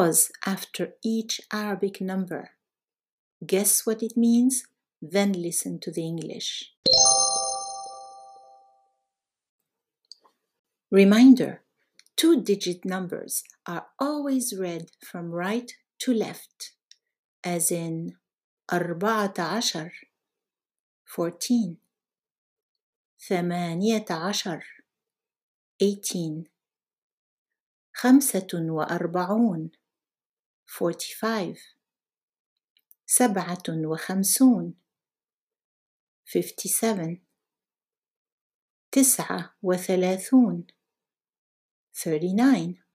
pause after each Arabic number. Guess what it means, then listen to the English. Reminder: 2-digit numbers are always read from right to left, as in 14, 14, 18, 18, 45, 45, 57, 57, 39, 39.